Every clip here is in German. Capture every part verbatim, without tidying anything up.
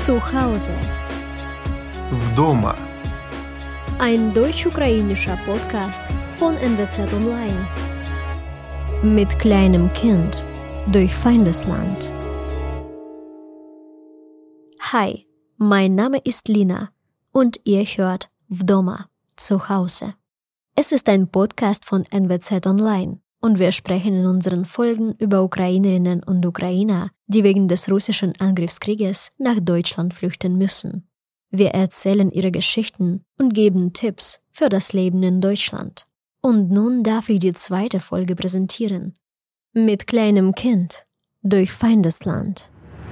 Zu Hause. Вдома. Ein deutsch-ukrainischer Podcast von N W Z Online. Mit kleinem Kind durch Feindesland. Hi, mein Name ist Lina und ihr hört Вдома, zu Hause. Es ist ein Podcast von N W Z Online und wir sprechen in unseren Folgen über Ukrainerinnen und Ukrainer, die wegen des russischen Angriffskrieges nach Deutschland flüchten müssen. Wir erzählen ihre Geschichten und geben Tipps für das Leben in Deutschland. Und nun darf ich die zweite Folge präsentieren. Mit kleinem Kind durch Feindesland.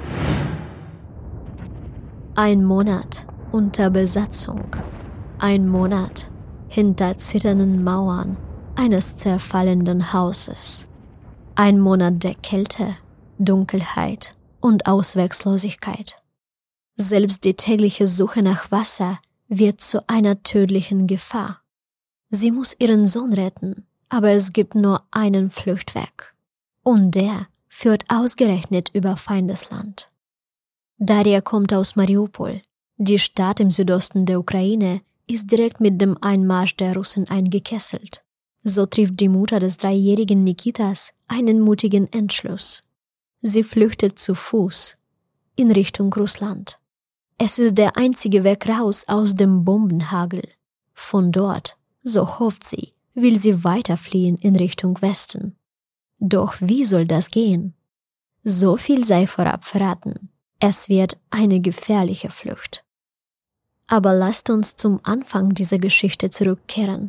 Ein Monat unter Besatzung. Ein Monat hinter zitternden Mauern eines zerfallenden Hauses. Ein Monat der Kälte, Dunkelheit und Ausweglosigkeit. Selbst die tägliche Suche nach Wasser wird zu einer tödlichen Gefahr. Sie muss ihren Sohn retten, aber es gibt nur einen Fluchtweg. Und der führt ausgerechnet über Feindesland. Daria kommt aus Mariupol. Die Stadt im Südosten der Ukraine ist direkt mit dem Einmarsch der Russen eingekesselt. So trifft die Mutter des dreijährigen Nikitas einen mutigen Entschluss. Sie flüchtet zu Fuß in Richtung Russland. Es ist der einzige Weg raus aus dem Bombenhagel. Von dort, so hofft sie, will sie weiterfliehen in Richtung Westen. Doch wie soll das gehen? So viel sei vorab verraten. Es wird eine gefährliche Flucht. Aber lasst uns zum Anfang dieser Geschichte zurückkehren.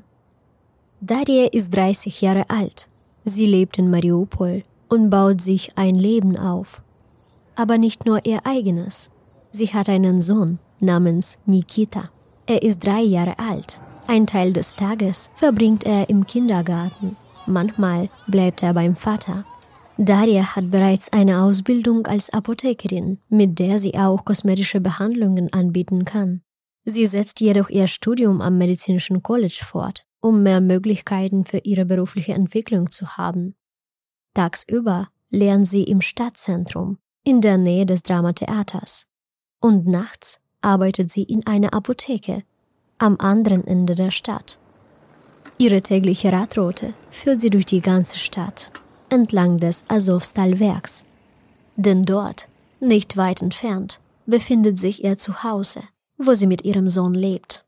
Daria ist dreißig Jahre alt. Sie lebt in Mariupol und baut sich ein Leben auf. Aber nicht nur ihr eigenes. Sie hat einen Sohn namens Nikita. Er ist drei Jahre alt. Ein Teil des Tages verbringt er im Kindergarten. Manchmal bleibt er beim Vater. Daria hat bereits eine Ausbildung als Apothekerin, mit der sie auch kosmetische Behandlungen anbieten kann. Sie setzt jedoch ihr Studium am Medizinischen College fort, um mehr Möglichkeiten für ihre berufliche Entwicklung zu haben. Tagsüber lernt sie im Stadtzentrum, in der Nähe des Dramatheaters. Und nachts arbeitet sie in einer Apotheke, am anderen Ende der Stadt. Ihre tägliche Radroute führt sie durch die ganze Stadt, entlang des Azovstal-Werks. Denn dort, nicht weit entfernt, befindet sich ihr Zuhause, wo sie mit ihrem Sohn lebt.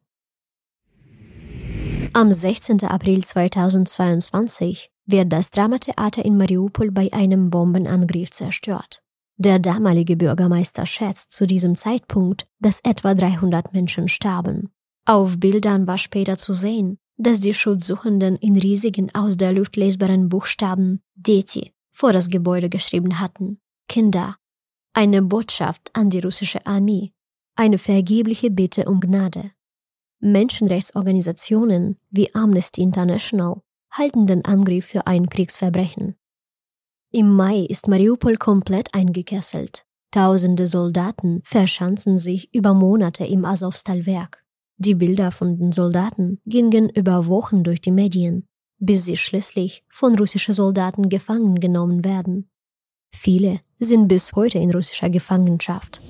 Am sechzehnten April zweitausendzweiundzwanzig wird das Dramatheater in Mariupol bei einem Bombenangriff zerstört. Der damalige Bürgermeister schätzt zu diesem Zeitpunkt, dass etwa dreihundert Menschen starben. Auf Bildern war später zu sehen, dass die Schutzsuchenden in riesigen aus der Luft lesbaren Buchstaben Deti vor das Gebäude geschrieben hatten. Kinder. Eine Botschaft an die russische Armee. Eine vergebliche Bitte um Gnade. Menschenrechtsorganisationen wie Amnesty International halten den Angriff für ein Kriegsverbrechen. Im Mai ist Mariupol komplett eingekesselt. Tausende Soldaten verschanzen sich über Monate im Azovstal-Werk. Die Bilder von den Soldaten gingen über Wochen durch die Medien, bis sie schließlich von russischen Soldaten gefangen genommen werden. Viele sind bis heute in russischer Gefangenschaft.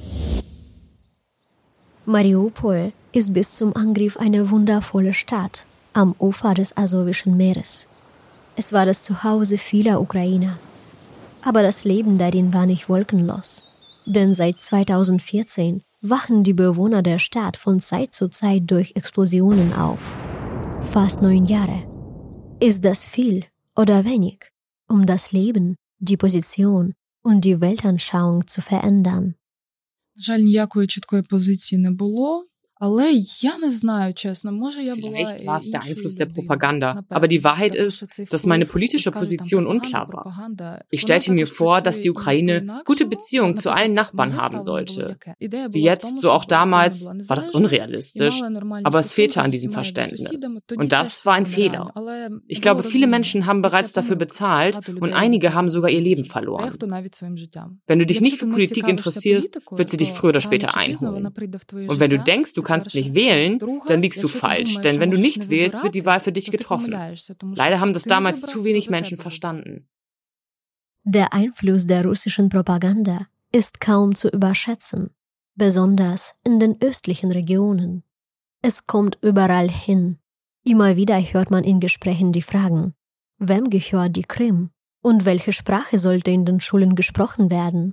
Mariupol ist bis zum Angriff eine wundervolle Stadt am Ufer des Asowischen Meeres. Es war das Zuhause vieler Ukrainer. Aber das Leben darin war nicht wolkenlos. Denn seit zweitausendvierzehn wachen die Bewohner der Stadt von Zeit zu Zeit durch Explosionen auf. Fast neun Jahre. Ist das viel oder wenig, um das Leben, die Position und die Weltanschauung zu verändern? Жаль, ніякої чіткої позиції не було. Vielleicht war es der Einfluss der Propaganda, aber die Wahrheit ist, dass meine politische Position unklar war. Ich stellte mir vor, dass die Ukraine gute Beziehungen zu allen Nachbarn haben sollte. Wie jetzt, so auch damals, war das unrealistisch, aber es fehlte an diesem Verständnis. Und das war ein Fehler. Ich glaube, viele Menschen haben bereits dafür bezahlt und einige haben sogar ihr Leben verloren. Wenn du dich nicht für Politik interessierst, wird sie dich früher oder später einholen. Und wenn du denkst, du kannst nicht wählen, dann liegst du falsch, denn wenn du nicht wählst, wird die Wahl für dich getroffen. Leider haben das damals zu wenig Menschen verstanden. Der Einfluss der russischen Propaganda ist kaum zu überschätzen. besonders in den östlichen Regionen. Es kommt überall hin. Immer wieder hört man in Gesprächen die Fragen: Wem gehört die Krim? Und welche Sprache sollte in den Schulen gesprochen werden?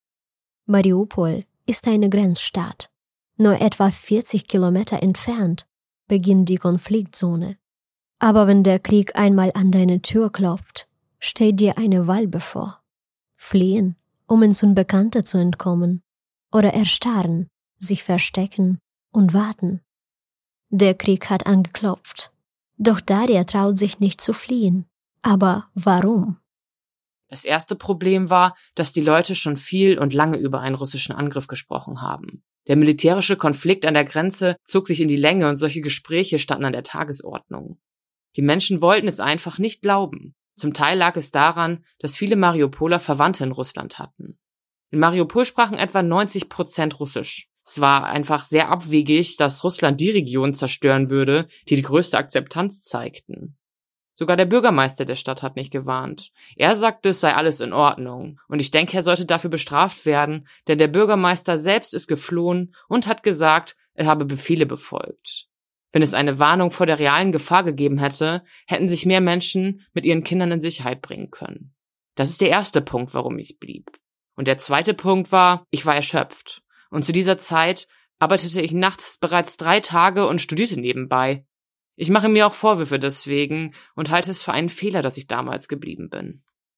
Mariupol ist eine Grenzstadt. Nur etwa vierzig Kilometer entfernt beginnt die Konfliktzone. Aber wenn der Krieg einmal an deine Tür klopft, steht dir eine Wahl bevor. Fliehen, um ins Unbekannte zu entkommen, oder erstarren, sich verstecken und warten. Der Krieg hat angeklopft. Doch Daria traut sich nicht zu fliehen. Aber warum? Das erste Problem war, dass die Leute schon viel und lange über einen russischen Angriff gesprochen haben. Der militärische Konflikt an der Grenze zog sich in die Länge und solche Gespräche standen an der Tagesordnung. Die Menschen wollten es einfach nicht glauben. Zum Teil lag es daran, dass viele Mariupoler Verwandte in Russland hatten. In Mariupol sprachen etwa neunzig Prozent Russisch. Es war einfach sehr abwegig, dass Russland die Region zerstören würde, die die größte Akzeptanz zeigten. Sogar der Bürgermeister der Stadt hat nicht gewarnt. Er sagte, es sei alles in Ordnung. Und ich denke, er sollte dafür bestraft werden, denn der Bürgermeister selbst ist geflohen und hat gesagt, er habe Befehle befolgt. Wenn es eine Warnung vor der realen Gefahr gegeben hätte, hätten sich mehr Menschen mit ihren Kindern in Sicherheit bringen können. Das ist der erste Punkt, warum ich blieb. Und der zweite Punkt war, ich war erschöpft. Und zu dieser Zeit arbeitete ich nachts bereits drei Tage und studierte nebenbei. Ich mache mir auch Vorwürfe deswegen und halte es für einen Fehler, dass ich damals geblieben bin.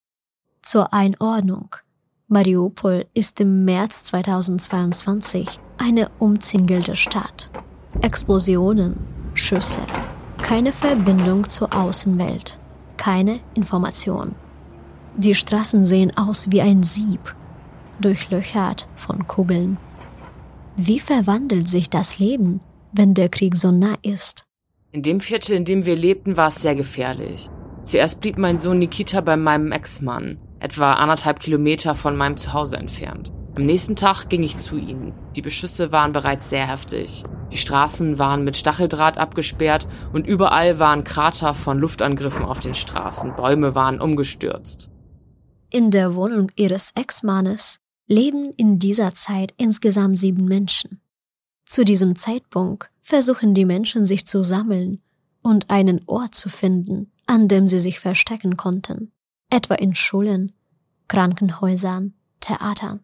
Zur Einordnung. Mariupol ist im März zweitausendzweiundzwanzig eine umzingelte Stadt. Explosionen, Schüsse, keine Verbindung zur Außenwelt, keine Information. Die Straßen sehen aus wie ein Sieb, durchlöchert von Kugeln. Wie verwandelt sich das Leben, wenn der Krieg so nah ist? In dem Viertel, in dem wir lebten, war es sehr gefährlich. Zuerst blieb mein Sohn Nikita bei meinem Ex-Mann, etwa anderthalb Kilometer von meinem Zuhause entfernt. Am nächsten Tag ging ich zu ihnen. Die Beschüsse waren bereits sehr heftig. Die Straßen waren mit Stacheldraht abgesperrt und überall waren Krater von Luftangriffen auf den Straßen. Bäume waren umgestürzt. In der Wohnung ihres Ex-Mannes leben in dieser Zeit insgesamt sieben Menschen. Zu diesem Zeitpunkt versuchen die Menschen, sich zu sammeln und einen Ort zu finden, an dem sie sich verstecken konnten, etwa in Schulen, Krankenhäusern, Theatern.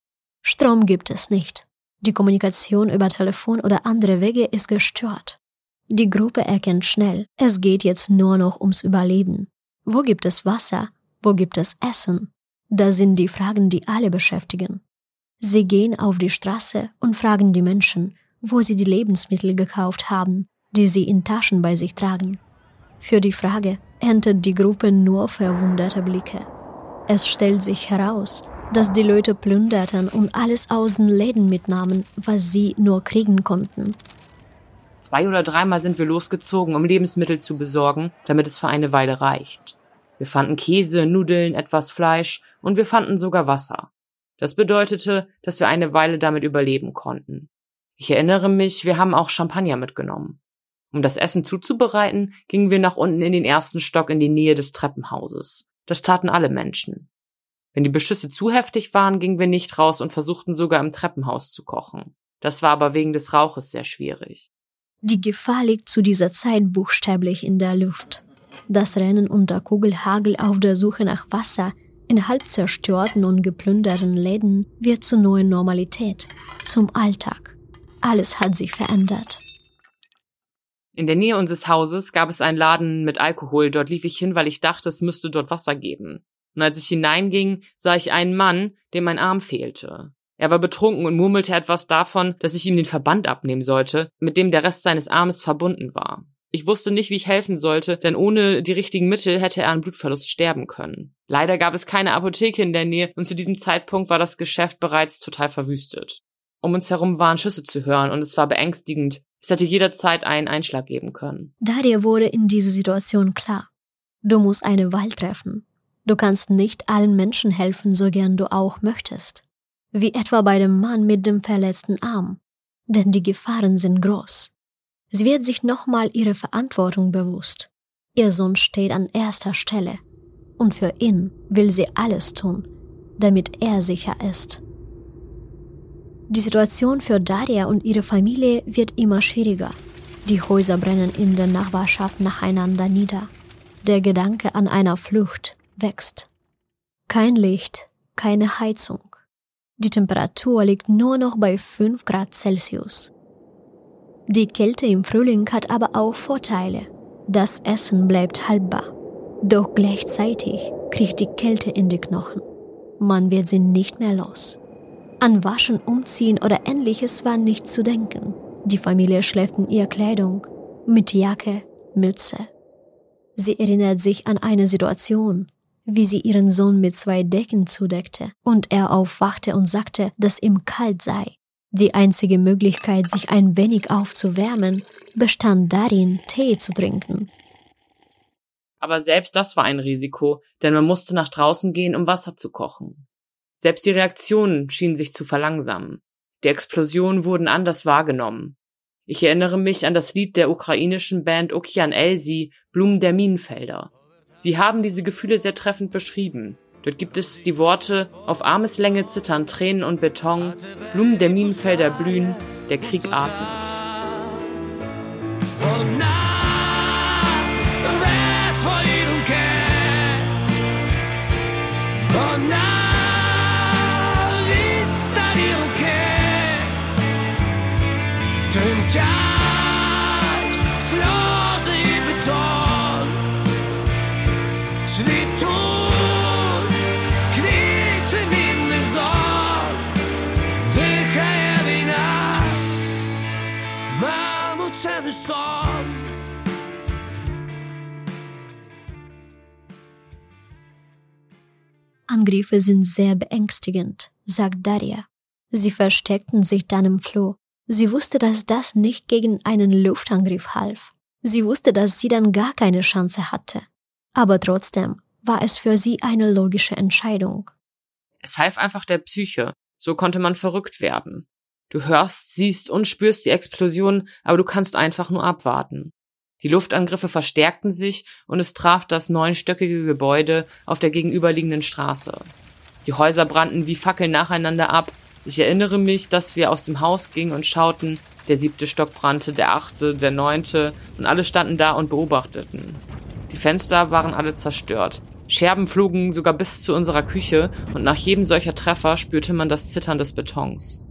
Strom gibt es nicht. Die Kommunikation über Telefon oder andere Wege ist gestört. Die Gruppe erkennt schnell, es geht jetzt nur noch ums Überleben. Wo gibt es Wasser? Wo gibt es Essen? Das sind die Fragen, die alle beschäftigen. Sie gehen auf die Straße und fragen die Menschen, wo sie die Lebensmittel gekauft haben, die sie in Taschen bei sich tragen. Für die Frage erntet die Gruppe nur verwunderte Blicke. Es stellt sich heraus, dass die Leute plünderten und alles aus den Läden mitnahmen, was sie nur kriegen konnten. Zwei oder dreimal sind wir losgezogen, um Lebensmittel zu besorgen, damit es für eine Weile reicht. Wir fanden Käse, Nudeln, etwas Fleisch und wir fanden sogar Wasser. Das bedeutete, dass wir eine Weile damit überleben konnten. Ich erinnere mich, wir haben auch Champagner mitgenommen. Um das Essen zuzubereiten, gingen wir nach unten in den ersten Stock in die Nähe des Treppenhauses. Das taten alle Menschen. Wenn die Beschüsse zu heftig waren, gingen wir nicht raus und versuchten sogar im Treppenhaus zu kochen. Das war aber wegen des Rauches sehr schwierig. Die Gefahr liegt zu dieser Zeit buchstäblich in der Luft. Das Rennen unter Kugelhagel auf der Suche nach Wasser in halb zerstörten und geplünderten Läden wird zur neuen Normalität, zum Alltag. Alles hat sich verändert. In der Nähe unseres Hauses gab es einen Laden mit Alkohol. Dort lief ich hin, weil ich dachte, es müsste dort Wasser geben. Und als ich hineinging, sah ich einen Mann, dem ein Arm fehlte. Er war betrunken und murmelte etwas davon, dass ich ihm den Verband abnehmen sollte, mit dem der Rest seines Armes verbunden war. Ich wusste nicht, wie ich helfen sollte, denn ohne die richtigen Mittel hätte er an Blutverlust sterben können. Leider gab es keine Apotheke in der Nähe und zu diesem Zeitpunkt war das Geschäft bereits total verwüstet. Um uns herum waren Schüsse zu hören und es war beängstigend. Es hätte jederzeit einen Einschlag geben können. Daria wurde in dieser Situation klar. Du musst eine Wahl treffen. Du kannst nicht allen Menschen helfen, so gern du auch möchtest. Wie etwa bei dem Mann mit dem verletzten Arm. Denn die Gefahren sind groß. Sie wird sich nochmal ihrer Verantwortung bewusst. Ihr Sohn steht an erster Stelle. Und für ihn will sie alles tun, damit er sicher ist. Die Situation für Daria und ihre Familie wird immer schwieriger. Die Häuser brennen in der Nachbarschaft nacheinander nieder. Der Gedanke an einer Flucht wächst. Kein Licht, keine Heizung. Die Temperatur liegt nur noch bei fünf Grad Celsius. Die Kälte im Frühling hat aber auch Vorteile. Das Essen bleibt haltbar. Doch gleichzeitig kriecht die Kälte in die Knochen. Man wird sie nicht mehr los. An Waschen, Umziehen oder Ähnliches war nicht zu denken. Die Familie schläft in ihrer Kleidung, mit Jacke, Mütze. Sie erinnert sich an eine Situation, wie sie ihren Sohn mit zwei Decken zudeckte und er aufwachte und sagte, dass ihm kalt sei. Die einzige Möglichkeit, sich ein wenig aufzuwärmen, bestand darin, Tee zu trinken. Aber selbst das war ein Risiko, denn man musste nach draußen gehen, um Wasser zu kochen. Selbst die Reaktionen schienen sich zu verlangsamen. Die Explosionen wurden anders wahrgenommen. Ich erinnere mich an das Lied der ukrainischen Band Okean Elzy, Blumen der Minenfelder. Sie haben diese Gefühle sehr treffend beschrieben. Dort gibt es die Worte: Auf Armeslänge zittern Tränen und Beton, Blumen der Minenfelder blühen, der Krieg atmet. Angriffe sind sehr beängstigend, sagt Daria. Sie versteckten sich dann im Flur. Sie wusste, dass das nicht gegen einen Luftangriff half. Sie wusste, dass sie dann gar keine Chance hatte. Aber trotzdem war es für sie eine logische Entscheidung. Es half einfach der Psyche. So konnte man verrückt werden. Du hörst, siehst und spürst die Explosion, aber du kannst einfach nur abwarten. Die Luftangriffe verstärkten sich und es traf das neunstöckige Gebäude auf der gegenüberliegenden Straße. Die Häuser brannten wie Fackeln nacheinander ab. Ich erinnere mich, dass wir aus dem Haus gingen und schauten. Der siebte Stock brannte, der achte, der neunte und alle standen da und beobachteten. Die Fenster waren alle zerstört. Scherben flogen sogar bis zu unserer Küche und nach jedem solcher Treffer spürte man das Zittern des Betons.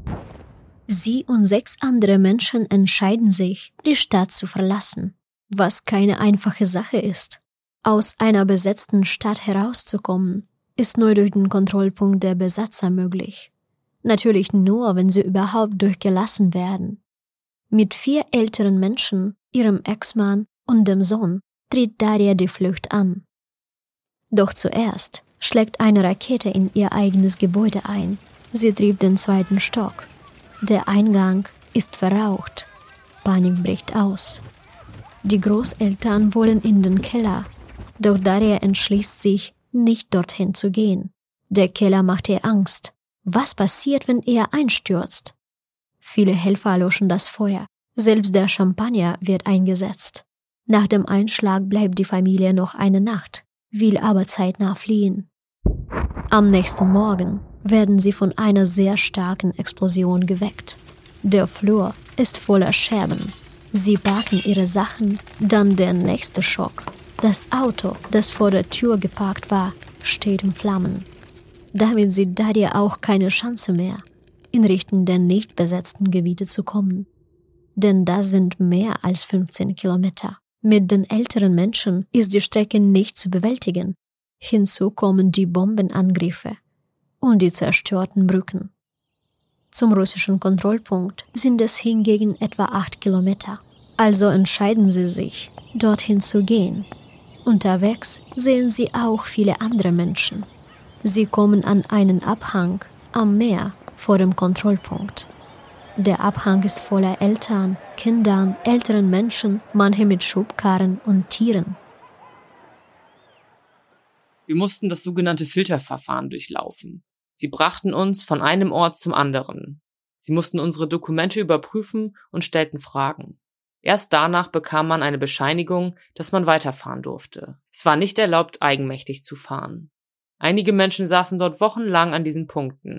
Sie und sechs andere Menschen entscheiden sich, die Stadt zu verlassen, was keine einfache Sache ist. Aus einer besetzten Stadt herauszukommen, ist nur durch den Kontrollpunkt der Besatzer möglich. Natürlich nur, wenn sie überhaupt durchgelassen werden. Mit vier älteren Menschen, ihrem Ex-Mann und dem Sohn, tritt Daria die Flucht an. Doch zuerst schlägt eine Rakete in ihr eigenes Gebäude ein. Sie trifft den zweiten Stock. Der Eingang ist verraucht. Panik bricht aus. Die Großeltern wollen in den Keller, doch Daria entschließt sich, nicht dorthin zu gehen. Der Keller macht ihr Angst. Was passiert, wenn er einstürzt? Viele Helfer löschen das Feuer. Selbst der Champagner wird eingesetzt. Nach dem Einschlag bleibt die Familie noch eine Nacht, will aber zeitnah fliehen. Am nächsten Morgen werden sie von einer sehr starken Explosion geweckt. Der Flur ist voller Scherben. Sie packen ihre Sachen, dann der nächste Schock. Das Auto, das vor der Tür geparkt war, steht in Flammen. Damit sieht Daria auch keine Chance mehr, in Richtung der nicht besetzten Gebiete zu kommen. Denn das sind mehr als fünfzehn Kilometer. Mit den älteren Menschen ist die Strecke nicht zu bewältigen. Hinzu kommen die Bombenangriffe und die zerstörten Brücken. Zum russischen Kontrollpunkt sind es hingegen etwa acht Kilometer. Also entscheiden sie sich, dorthin zu gehen. Unterwegs sehen sie auch viele andere Menschen. Sie kommen an einen Abhang am Meer vor dem Kontrollpunkt. Der Abhang ist voller Eltern, Kindern, älteren Menschen, manche mit Schubkarren und Tieren. Wir mussten das sogenannte Filterverfahren durchlaufen. Sie brachten uns von einem Ort zum anderen. Sie mussten unsere Dokumente überprüfen und stellten Fragen. Erst danach bekam man eine Bescheinigung, dass man weiterfahren durfte. Es war nicht erlaubt, eigenmächtig zu fahren. Einige Menschen saßen dort wochenlang an diesen Punkten.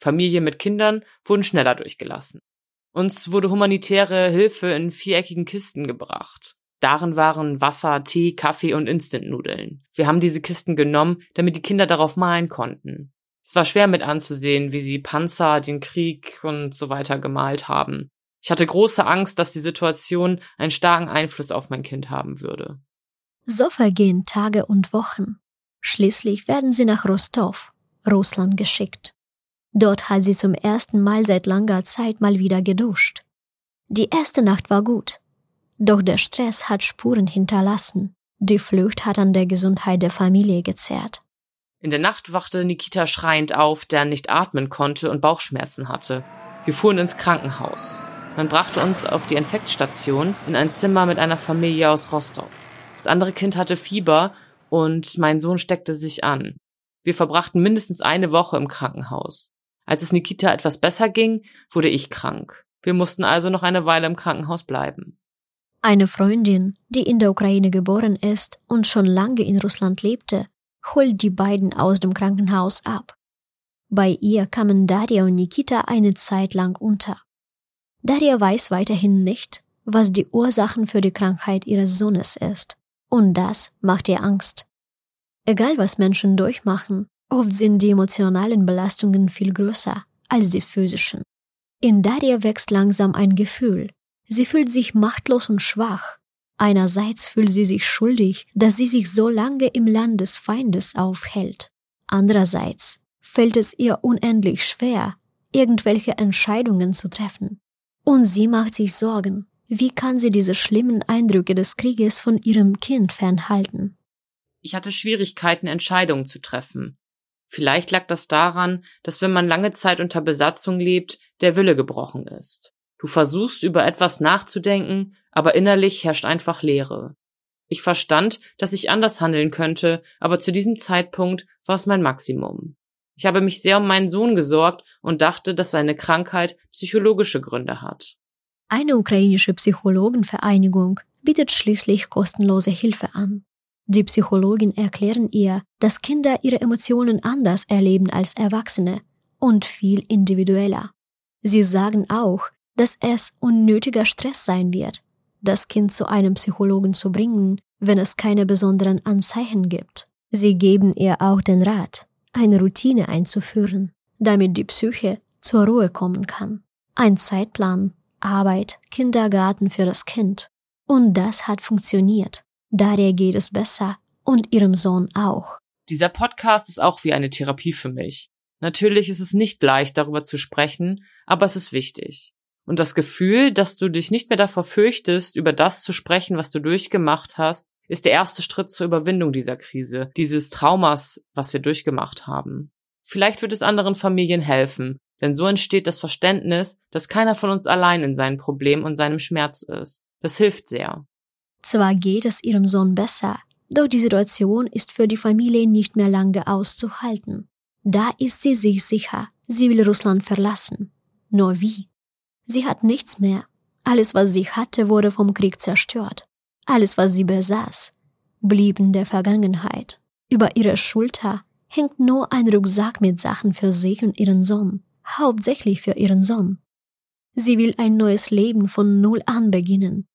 Familien mit Kindern wurden schneller durchgelassen. Uns wurde humanitäre Hilfe in viereckigen Kisten gebracht. Darin waren Wasser, Tee, Kaffee und Instant-Nudeln. Wir haben diese Kisten genommen, damit die Kinder darauf malen konnten. Es war schwer mit anzusehen, wie sie Panzer, den Krieg und so weiter gemalt haben. Ich hatte große Angst, dass die Situation einen starken Einfluss auf mein Kind haben würde. So vergehen Tage und Wochen. Schließlich werden sie nach Rostow, Russland, geschickt. Dort hat sie zum ersten Mal seit langer Zeit mal wieder geduscht. Die erste Nacht war gut. Doch der Stress hat Spuren hinterlassen. Die Flucht hat an der Gesundheit der Familie gezerrt. In der Nacht wachte Nikita schreiend auf, der nicht atmen konnte und Bauchschmerzen hatte. Wir fuhren ins Krankenhaus. Man brachte uns auf die Infektstation in ein Zimmer mit einer Familie aus Rostow. Das andere Kind hatte Fieber und mein Sohn steckte sich an. Wir verbrachten mindestens eine Woche im Krankenhaus. Als es Nikita etwas besser ging, wurde ich krank. Wir mussten also noch eine Weile im Krankenhaus bleiben. Eine Freundin, die in der Ukraine geboren ist und schon lange in Russland lebte, holt die beiden aus dem Krankenhaus ab. Bei ihr kamen Darja und Nikita eine Zeit lang unter. Darja weiß weiterhin nicht, was die Ursachen für die Krankheit ihres Sohnes ist. Und das macht ihr Angst. Egal was Menschen durchmachen, oft sind die emotionalen Belastungen viel größer als die physischen. In Darja wächst langsam ein Gefühl. Sie fühlt sich machtlos und schwach. Einerseits fühlt sie sich schuldig, dass sie sich so lange im Land des Feindes aufhält. Andererseits fällt es ihr unendlich schwer, irgendwelche Entscheidungen zu treffen. Und sie macht sich Sorgen. Wie kann sie diese schlimmen Eindrücke des Krieges von ihrem Kind fernhalten? Ich hatte Schwierigkeiten, Entscheidungen zu treffen. Vielleicht lag das daran, dass wenn man lange Zeit unter Besatzung lebt, der Wille gebrochen ist. Du versuchst, über etwas nachzudenken, aber innerlich herrscht einfach Leere. Ich verstand, dass ich anders handeln könnte, aber zu diesem Zeitpunkt war es mein Maximum. Ich habe mich sehr um meinen Sohn gesorgt und dachte, dass seine Krankheit psychologische Gründe hat. Eine ukrainische Psychologenvereinigung bietet schließlich kostenlose Hilfe an. Die Psychologen erklären ihr, dass Kinder ihre Emotionen anders erleben als Erwachsene und viel individueller. Sie sagen auch, dass es unnötiger Stress sein wird, das Kind zu einem Psychologen zu bringen, wenn es keine besonderen Anzeichen gibt. Sie geben ihr auch den Rat, eine Routine einzuführen, damit die Psyche zur Ruhe kommen kann. Ein Zeitplan, Arbeit, Kindergarten für das Kind. Und das hat funktioniert. Darja geht es besser und ihrem Sohn auch. Dieser Podcast ist auch wie eine Therapie für mich. Natürlich ist es nicht leicht, darüber zu sprechen, aber es ist wichtig. Und das Gefühl, dass du dich nicht mehr davor fürchtest, über das zu sprechen, was du durchgemacht hast, ist der erste Schritt zur Überwindung dieser Krise, dieses Traumas, was wir durchgemacht haben. Vielleicht wird es anderen Familien helfen, denn so entsteht das Verständnis, dass keiner von uns allein in seinem Problem und seinem Schmerz ist. Das hilft sehr. Zwar geht es ihrem Sohn besser, doch die Situation ist für die Familie nicht mehr lange auszuhalten. Da ist sie sich sicher, sie will Russland verlassen. Nur wie? Sie hat nichts mehr. Alles, was sie hatte, wurde vom Krieg zerstört. Alles, was sie besaß, blieb in der Vergangenheit. Über ihrer Schulter hängt nur ein Rucksack mit Sachen für sich und ihren Sohn, hauptsächlich für ihren Sohn. Sie will ein neues Leben von Null an beginnen.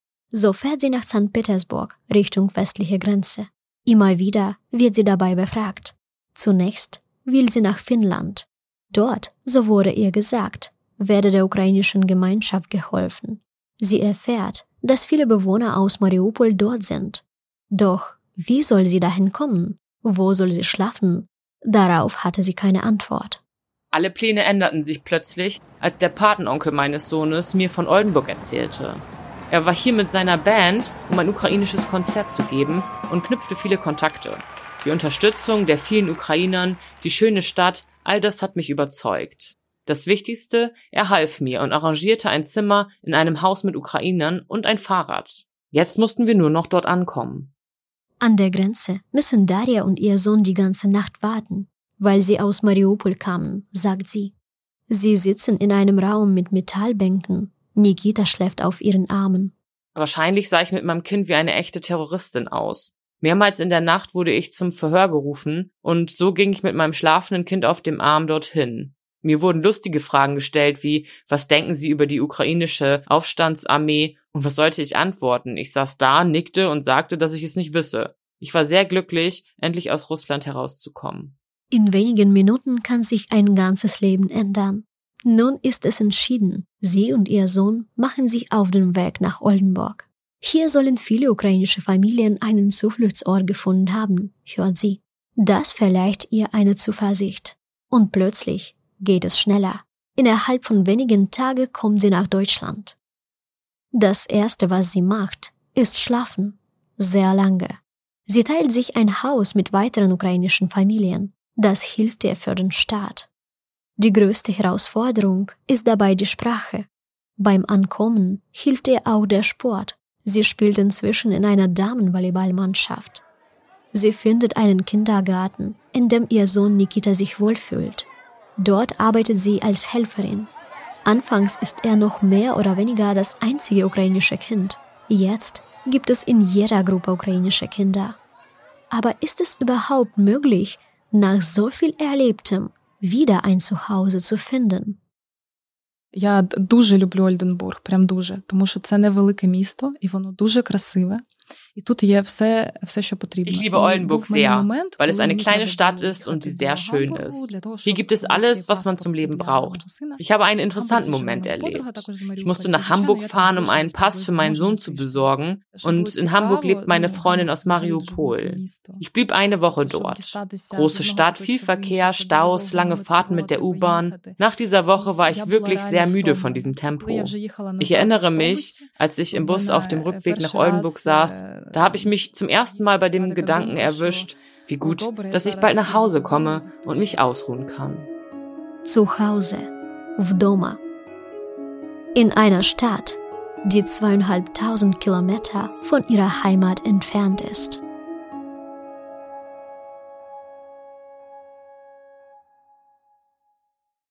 So fährt sie nach Sankt Petersburg, Richtung westliche Grenze. Immer wieder wird sie dabei befragt. Zunächst will sie nach Finnland. Dort, so wurde ihr gesagt, werde der ukrainischen Gemeinschaft geholfen. Sie erfährt, dass viele Bewohner aus Mariupol dort sind. Doch wie soll sie dahin kommen? Wo soll sie schlafen? Darauf hatte sie keine Antwort. Alle Pläne änderten sich plötzlich, als der Patenonkel meines Sohnes mir von Oldenburg erzählte. Er war hier mit seiner Band, um ein ukrainisches Konzert zu geben und knüpfte viele Kontakte. Die Unterstützung der vielen Ukrainern, die schöne Stadt, all das hat mich überzeugt. Das Wichtigste, er half mir und arrangierte ein Zimmer in einem Haus mit Ukrainern und ein Fahrrad. Jetzt mussten wir nur noch dort ankommen. An der Grenze müssen Darja und ihr Sohn die ganze Nacht warten, weil sie aus Mariupol kamen, sagt sie. Sie sitzen in einem Raum mit Metallbänken. Nikita schläft auf ihren Armen. Wahrscheinlich sah ich mit meinem Kind wie eine echte Terroristin aus. Mehrmals in der Nacht wurde ich zum Verhör gerufen und so ging ich mit meinem schlafenden Kind auf dem Arm dorthin. Mir wurden lustige Fragen gestellt wie, was denken Sie über die ukrainische Aufstandsarmee? Und was sollte ich antworten? Ich saß da, nickte und sagte, dass ich es nicht wisse. Ich war sehr glücklich, endlich aus Russland herauszukommen. In wenigen Minuten kann sich ein ganzes Leben ändern. Nun ist es entschieden. Sie und ihr Sohn machen sich auf den Weg nach Oldenburg. Hier sollen viele ukrainische Familien einen Zufluchtsort gefunden haben, hört sie. Das verleiht ihr eine Zuversicht. Und plötzlich geht es schneller. Innerhalb von wenigen Tagen kommt sie nach Deutschland. Das Erste, was sie macht, ist schlafen. Sehr lange. Sie teilt sich ein Haus mit weiteren ukrainischen Familien. Das hilft ihr für den Start. Die größte Herausforderung ist dabei die Sprache. Beim Ankommen hilft ihr auch der Sport. Sie spielt inzwischen in einer Damenvolleyballmannschaft. Sie findet einen Kindergarten, in dem ihr Sohn Nikita sich wohlfühlt. Dort arbeitet sie als Helferin. Anfangs ist er noch mehr oder weniger das einzige ukrainische Kind. Jetzt gibt es in jeder Gruppe ukrainische Kinder. Aber ist es überhaupt möglich, nach so viel Erlebtem wieder ein Zuhause zu finden? Я дуже люблю Ольденбург, прям дуже, тому що це невелике місто, і воно дуже красиве. Ich liebe Oldenburg sehr, weil es eine kleine Stadt ist und sie sehr schön ist. Hier gibt es alles, was man zum Leben braucht. Ich habe einen interessanten Moment erlebt. Ich musste nach Hamburg fahren, um einen Pass für meinen Sohn zu besorgen, und in Hamburg lebt meine Freundin aus Mariupol. Ich blieb eine Woche dort. Große Stadt, viel Verkehr, Staus, lange Fahrten mit der U-Bahn. Nach dieser Woche war ich wirklich sehr müde von diesem Tempo. Ich erinnere mich, als ich im Bus auf dem Rückweg nach Oldenburg saß, da habe ich mich zum ersten Mal bei dem Gedanken erwischt, wie gut, dass ich bald nach Hause komme und mich ausruhen kann. Zu Hause, вдома. In einer Stadt, die zweieinhalbtausend Kilometer von ihrer Heimat entfernt ist.